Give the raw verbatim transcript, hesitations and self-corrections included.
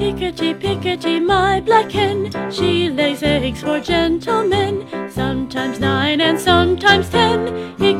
Peekety, peekety, my black hen, she lays eggs for gentlemen, sometimes nine and sometimes ten. He